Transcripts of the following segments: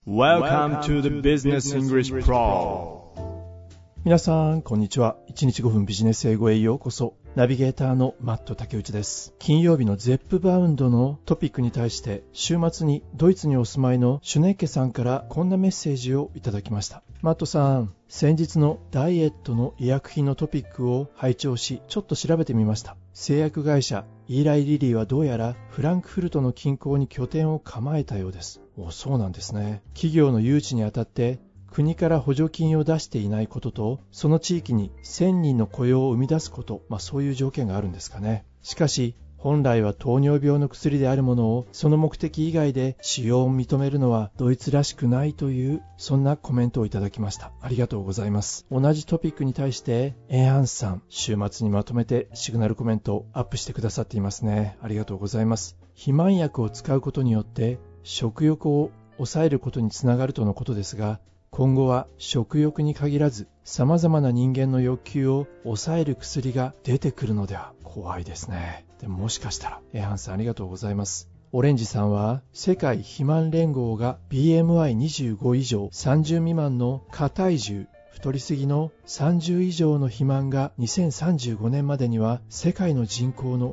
Welcome to the Business English Pro。 皆さんこんにちは。1日5分ビジネス英語へようこそ。ナビゲーターのマット竹内です。金曜日のゼップバウンドのトピックに対して週末にドイツにお住まいのシュネッケさんからこんなメッセージをいただきました。マットさん、先日のダイエットの医薬品のトピックを拝聴し、ちょっと調べてみました。製薬会社イーライリリーはどうやらフランクフルトの近郊に拠点を構えたようです。そうなんですね。企業の誘致にあたって国から補助金を出していないことと、その地域に1000人の雇用を生み出すこと、そういう条件があるんですかね。しかし本来は糖尿病の薬であるものをその目的以外で使用を認めるのはドイツらしくないという、そんなコメントをいただきました。ありがとうございます。同じトピックに対してエンハンスさん、週末にまとめてシグナルコメントをアップしてくださっていますね。ありがとうございます。肥満薬を使うことによって食欲を抑えることにつながるとのことですが、今後は食欲に限らず様々な人間の欲求を抑える薬が出てくるのでは。怖いですね。でももしかしたら。エハンさんありがとうございます。オレンジさんは世界肥満連合が BMI25 以上30未満の過体重、太りすぎの30以上の肥満が2035年までには世界の人口の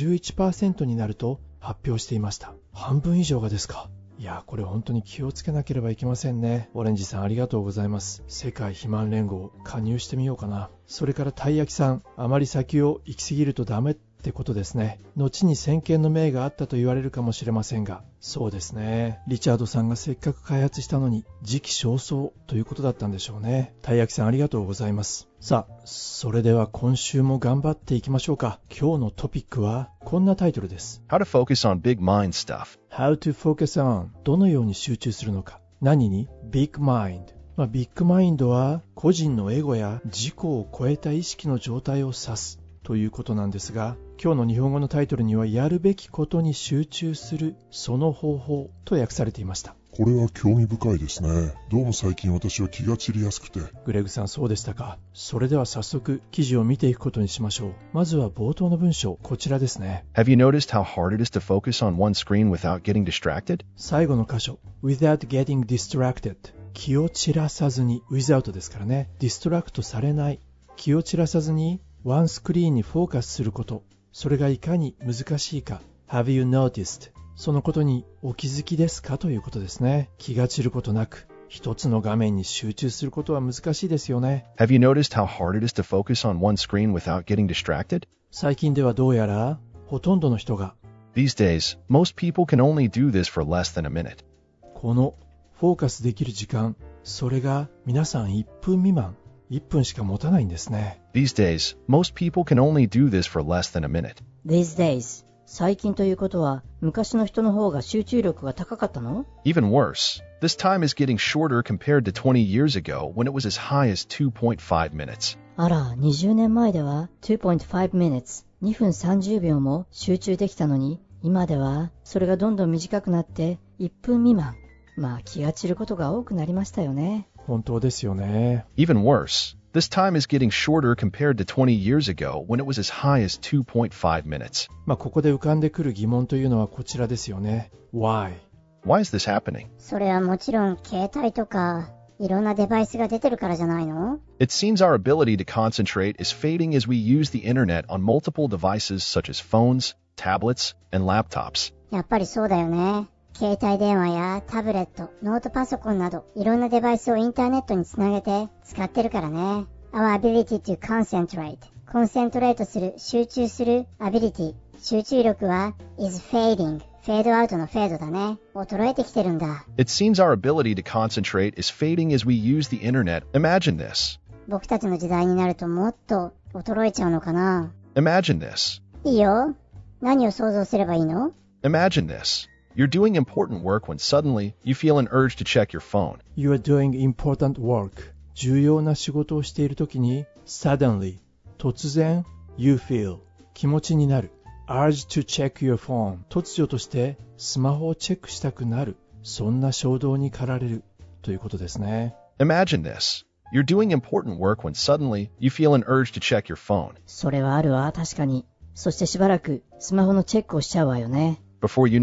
51% になると発表していました。半分以上がですか。いや、これ本当に気をつけなければいけませんね。オレンジさんありがとうございます。世界肥満連合加入してみようかな。それからたい焼きさん、あまり先を行き過ぎるとダメってことですね。後に先見の明があったと言われるかもしれませんが、そうですね。リチャードさんがせっかく開発したのに時期尚早ということだったんでしょうね。たい焼きさんありがとうございます。さあ、それでは今週も頑張っていきましょうか。今日のトピックはこんなタイトルです。 How to focus on big mind stuff. How to focus on どのように集中するのか。何に Big mind。ビッグマインドは個人のエゴや自己を超えた意識の状態を指すということなんですが、今日の日本語のタイトルにはやるべきことに集中するその方法と訳されていました。 これは興味深いですね。どうも最近私は気が散りやすくて。 グレグさんそうでしたか。それでは早速記事を見ていくことにしましょう。まずは冒頭の文章、こちらですね。 Have you noticed how hard it is to focus on one screen without getting distracted? 最後の箇所 without getting distracted、 気を散らさずに、 without ですからね。ディストラクトされない、気を散らさずにワンスクリーンにフォーカスすること、それがいかに難しいか。 Have you noticed、 そのことにお気づきですかということですね。気が散ることなく一つの画面に集中することは難しいですよね。 Have you noticed how hard it is to focus on one screen without getting distracted? 最近ではどうやらほとんどの人が These days, most people can only do this for less than a minute. このフォーカスできる時間、それが皆さん1分未満、1分しか持たないんですね。 These days, most people can only do this for less than a minute. These days、 最近ということは昔の人の方が集中力が高かったの？ Even worse, this time is getting shorter compared to 20 years ago when it was as high as 2.5 minutes. あら、20年前では 2.5 minutes、 2分30秒も集中できたのに、今ではそれがどんどん短くなって1分未満。気が散ることが多くなりましたよね。 本当ですよね。 Even worse, this time is getting shorter compared to 20 years ago when it was as high as 2.5 minutes. ここで浮かんでくる疑問というのはこちらですよね。 Why？ Why is this happening? それはもちろん携帯とかいろんなデバイスが出てるからじゃないの？ It seems our ability to concentrate is fading as we use the internet on multiple devices such as phones, tablets, and laptops. やっぱりそうだよね。携帯電話やタブレット、ノートパソコンなどいろんなデバイスをインターネットにつなげて使ってるからね。Our ability to concentrate、 コンセントレートする、集中する ability、 集中力は is fading、 フェードアウトのフェードだね。衰えてきてるんだ。 It seems our ability to concentrate is fading as we use the internet. Imagine this. 僕たちの時代になるともっと衰えちゃうのかな。 Imagine this. いいよ。何を想像すればいいの？ Imagine this.You're doing important work when suddenly you feel an urge to check your phone. You are doing important work。 重要な仕事をしているときに Suddenly、 突然 You feel、 気持ちになる Urge to check your phone、 突如としてスマホをチェックしたくなる、そんな衝動に駆られるということですね。 Imagine this.You're doing important work when suddenly you feel an urge to check your phone. それはあるわ、確かに。そしてしばらくスマホのチェックをしちゃうわよね。 Before you know it,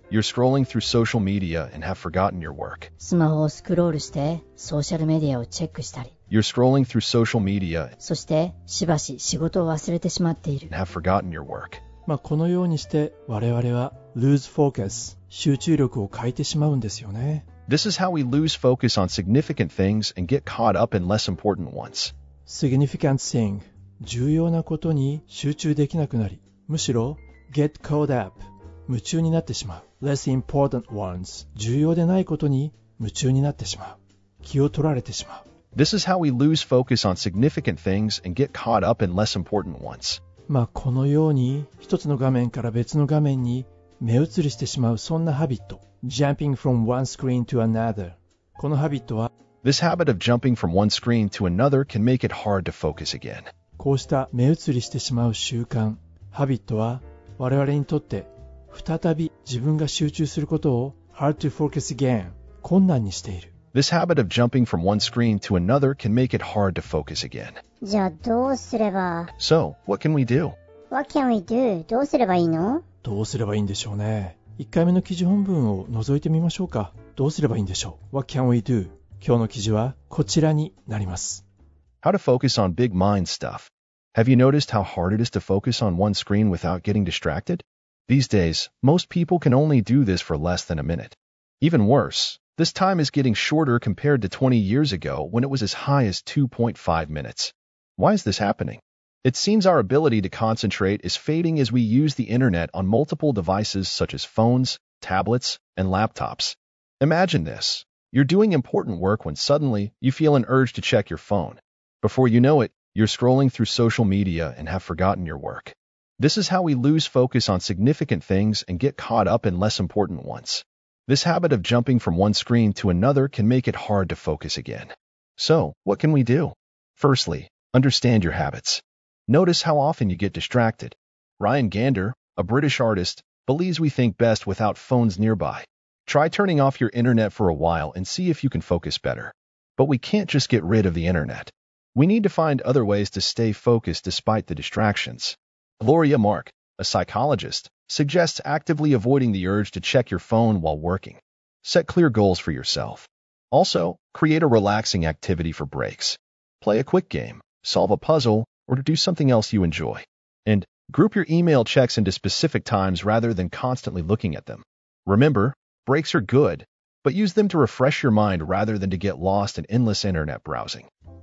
you're scrolling through social media and have forgotten your work. スマホをスクロールしてソーシャルメディアをチェックしたり、 You're scrolling through social media そしてしばし仕事を忘れてしまっている。 and have forgotten your work. このようにして我々は lose focus 集中力を欠いてしまうんですよね。 This is how we lose focus on significant things and get caught up in less important ones. significant thing 重要なことに集中できなくなり、むしろ get caught up 夢中になってしまう。less important ones 重要でないことに夢中になってしまう。気を取られてしまう。 This is how we lose focus on significant things and get caught up in less important ones. このように一つの画面から別の画面に目移りしてしまう、そんなハビット jumping from one screen to another。 このハビットは This habit of jumping from one screen to another can make it hard to focus again. こうした目移りしてしまう習慣、ハビットは我々にとって再び自分が集中することを hard to focus again 困難にしている。 This habit of jumping from one screen to another can make it hard to focus again. じゃあどうすれば So, what can we do? What can we do? どうすればいいの？ どうすればいいんでしょうね。1回目の記事本文を覗いてみましょうか。どうすればいいんでしょう。 What can we do? 今日の記事はこちらになります。 How to focus on big mind stuff. Have you noticed how hard it is to focus on one screen without getting distracted? These days, most people can only do this for less than a minute. Even worse, this time is getting shorter compared to 20 years ago when it was as high as 2.5 minutes. Why is this happening? It seems our ability to concentrate is fading as we use the internet on multiple devices such as phones, tablets, and laptops. Imagine this. You're doing important work when suddenly you feel an urge to check your phone. Before you know it, you're scrolling through social media and have forgotten your work. This is how we lose focus on significant things and get caught up in less important ones. This habit of jumping from one screen to another can make it hard to focus again. So, what can we do? Firstly, understand your habits. Notice how often you get distracted. Ryan Gander, a British artist, believes we think best without phones nearby. Try turning off your internet for a while and see if you can focus better. But we can't just get rid of the internet. We need to find other ways to stay focused despite the distractions. Gloria Mark, a psychologist, suggests actively avoiding the urge to check your phone while working. Set clear goals for yourself. Also, create a relaxing activity for breaks. Play a quick game, solve a puzzle, or to do something else you enjoy. And group your email checks into specific times rather than constantly looking at them. Remember, breaks are good, but use them to refresh your mind rather than to get lost in endless internet browsing.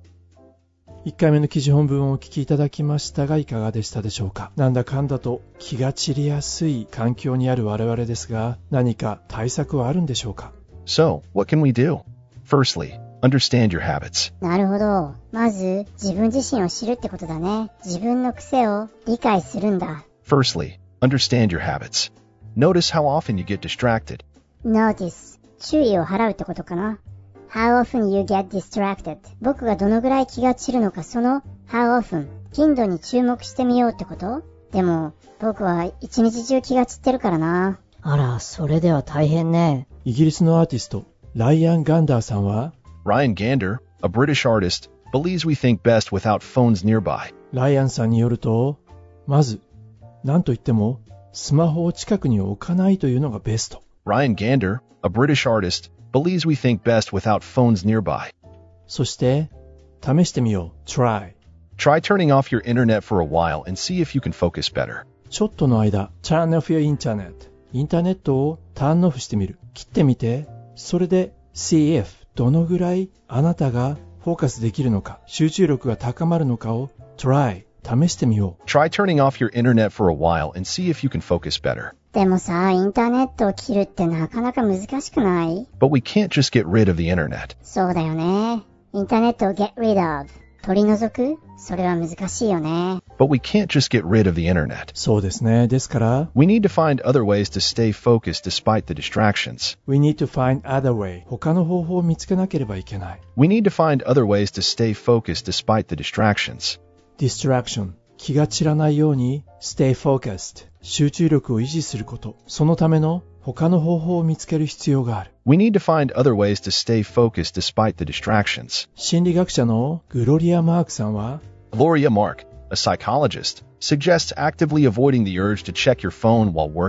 1回目の記事本文をお聞きいただきましたがいかがでしたでしょうか。なんだかんだと気が散りやすい環境にある我々ですが、何か対策はあるんでしょうか。 So, what can we do? Firstly, understand your habits. なるほど。まず自分自身を知るってことだね。自分の癖を理解するんだ。 Firstly, understand your habits. Notice how often you get distracted. Notice 注意を払うってことかな。How often you get distracted 僕がどのぐらい気が散るのか、その How often 頻度に注目してみようってこと？でも僕は一日中気が散ってるからな。 あら、それでは大変ね。 イギリスのアーティストライアン・ガンダーさんは Ryan Gander, a British artist, believes we think best without phones nearby. ライアンさんによると、まず何といってもスマホを近くに置かないというのがベスト。 Ryan Gander, a British artist, believes we think best without phones nearby. そして試してみよう。 Try Try turning off your internet for a while and see if you can focus better. ちょっとの間 Turn off your internet インターネットをターンオフしてみる。切ってみて、それで See if どのぐらいあなたがフォーカスできるのか、集中力が高まるのかを Try 試してみよう。 Try turning off your internet for a while and see if you can focus better. でもさ、インターネットを切るってなかなか難しくない？ But we can't just get rid of the internet. そうだよね。インターネットを get rid of 取り除く？それは難しいよね。 But we can't just get rid of the internet. そうですね。ですから We need to find other ways to stay focused despite the distractions. We need to find other way 他の方法を見つけなければいけない。 We need to find other ways to stay focused despite the distractions. Distraction 気が散らないように Stay focused 集中力を維持すること、そのための他の方法を見つける必要がある。 We need to find other ways to stay focused despite the distractions. 心理学者のグロリア・マークさんは Gloria Mark, a psychologist, suggests actively avoiding the urge to check your phone while working.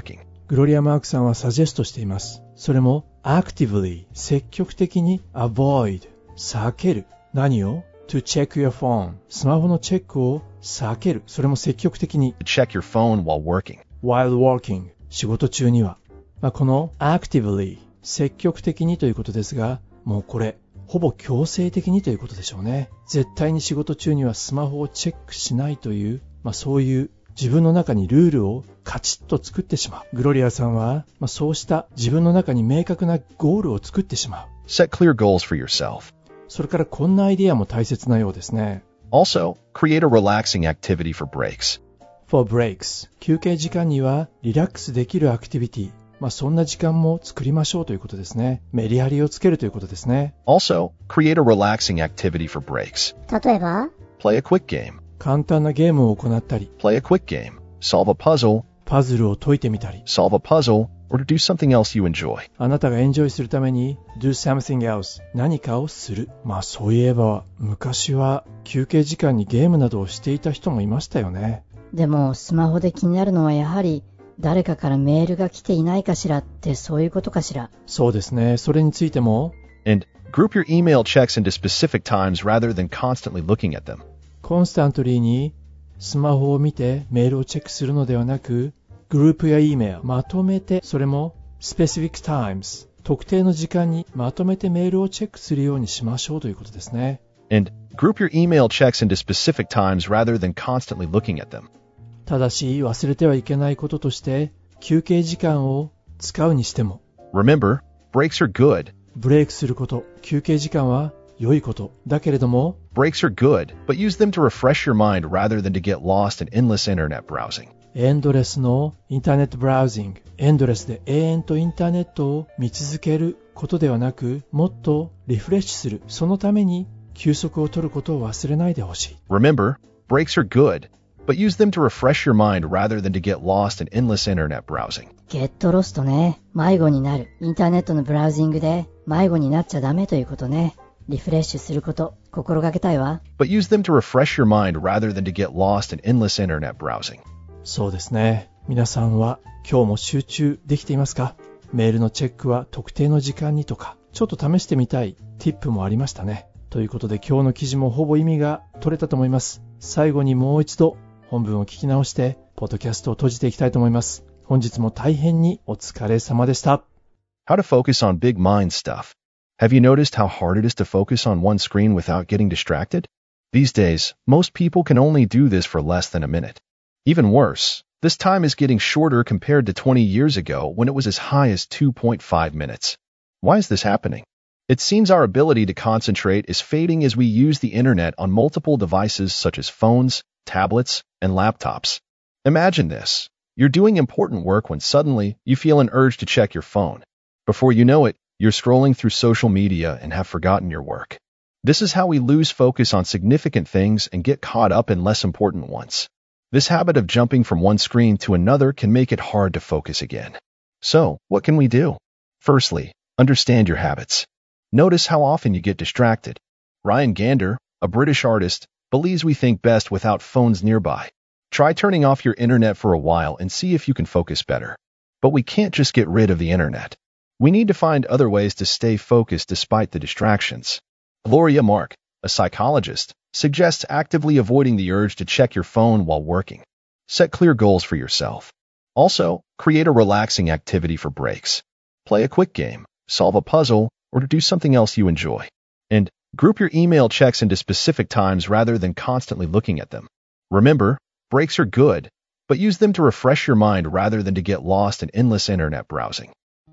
グロリア・マークさんはサジェストしています。それも actively 積極的に avoid 避ける。何を to check your phone スマホのチェックを避ける。それも積極的に To check your phone while working. while working 仕事中には、この actively 積極的にということですが、もうこれほぼ強制的にということでしょうね。絶対に仕事中にはスマホをチェックしないという、そういう自分の中にルールをカチッと作ってしまう。グロリアさんは、そうした自分の中に明確なゴールを作ってしまう。 Set clear goals for yourself. それからこんなアイディアも大切なようですね。 Also, create a relaxing activity for breaks. for breaks 休憩時間にはリラックスできるアクティビティ。そんな時間も作りましょうということですね。メリハリをつけるということですね。 Also, create a relaxing activity for breaks. 例えば Play a quick game. 簡単なゲームを行ったり、 Play a quick game. Solve a puzzle. パズルを解いてみたり、 Solve a puzzle. Or to do something else you enjoy. あなたがエンジョイするために do something else 何かをする。そういえば昔は休憩時間にゲームなどをしていた人もいましたよね。 でもスマホで気になるのはやはり誰かからメールが来ていないかしらってそういうことかしら。 そうですね。それについても And group your email checks into specific times rather than constantly looking at them. コンスタントリーにスマホを見てメールをチェックするのではなく、グループや E メールまとめて、それも specific times 特定の時間にまとめてメールをチェックするようにしましょうということですね。 And group your email checks into specific times rather than constantly looking at them. ただし忘れてはいけないこととして休憩時間を使うにしても Remember, breaks are good. ブレイクすること、休憩時間は良いことだけれども Breaks are good, but use them to refresh your mind rather than to get lost in endless internet browsing. エンドレスのインターネットブラウジング、エンドレスで永遠とインターネットを見続けることではなく、もっとリフレッシュする。そのために休息を取ることを忘れないでほしい。 Remember, breaks are good, but use them to refresh your mind rather than to get lost in endless internet browsing. ゲットロストね。迷子になる。インターネットのブラウジングで迷子になっちゃダメということね。リフレッシュすること、心がけたいわ。 But use them to refresh your mind rather than to get lost in endless internet browsing. そうですね。皆さんは今日も集中できていますか？メールのチェックは特定の時間にとか、ちょっと試してみたい tip もありましたね。ということで今日の記事もほぼ意味が取れたと思います。最後にもう一度本文を聞き直して、ポッドキャストを閉じていきたいと思います。本日も大変にお疲れ様でした。 How to focus on big mind stuff. Have you noticed how hard it is to focus on one screen without getting distracted? These days, most people can only do this for less than a minute. Even worse, this time is getting shorter compared to 20 years ago when it was as high as 2.5 minutes. Why is this happening? It seems our ability to concentrate is fading as we use the internet on multiple devices such as phones, tablets, and laptops. Imagine this. You're doing important work when suddenly you feel an urge to check your phone. Before you know it, you're scrolling through social media and have forgotten your work. This is how we lose focus on significant things and get caught up in less important ones. This habit of jumping from one screen to another can make it hard to focus again. So, what can we do? Firstly, understand your habits. Notice how often you get distracted. Ryan Gander, a British artist, believes we think best without phones nearby. Try turning off your internet for a while and see if you can focus better. But we can't just get rid of the internet. We need to find other ways to stay focused despite the distractions. Gloria Mark, a psychologist, suggests actively avoiding the urge to check your phone while working. Set clear goals for yourself. Also, create a relaxing activity for breaks. Play a quick game, solve a puzzle, or to do something else you enjoy. And group your email checks into specific times rather than constantly looking at them. Remember, breaks are good, but use them to refresh your mind rather than to get lost in endless internet browsing.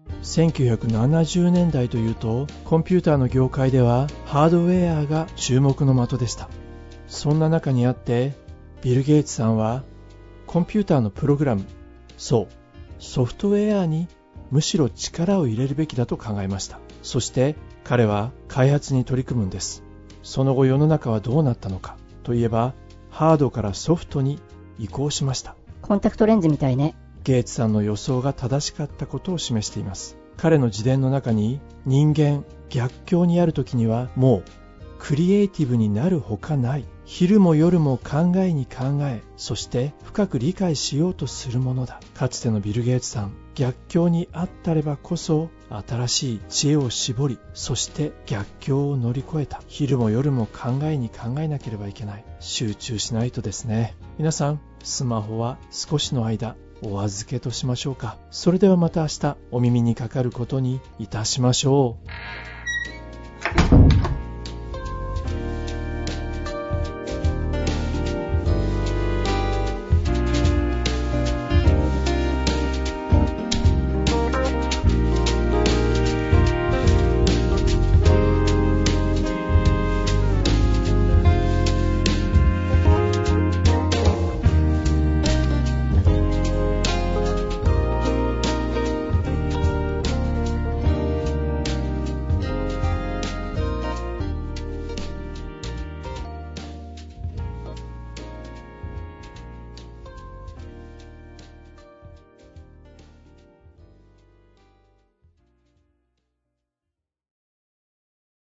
1970年代というとコンピューターの業界ではハードウェアが注目の的でした。そんな中にあってビル・ゲイツさんはコンピューターのプログラム、そうソフトウェアにむしろ力を入れるべきだと考えました。そして彼は開発に取り組むんです。その後世の中はどうなったのかといえばハードからソフトに移行しました。 コンタクトレンズみたいね。 ゲイツさんの予想が正しかったことを示しています。彼の自伝の中に人間逆境にある時にはもうクリエイティブになるほかない。昼も夜も考えに考え、そして深く理解しようとするものだ。かつてのビル・ゲイツさん、 逆境にあったればこそ新しい知恵を絞り、そして逆境を乗り越えた。昼も夜も考えなければいけない。集中しないとですね。皆さん、スマホは少しの間お預けとしましょうか。それではまた明日お耳にかかることにいたしましょう。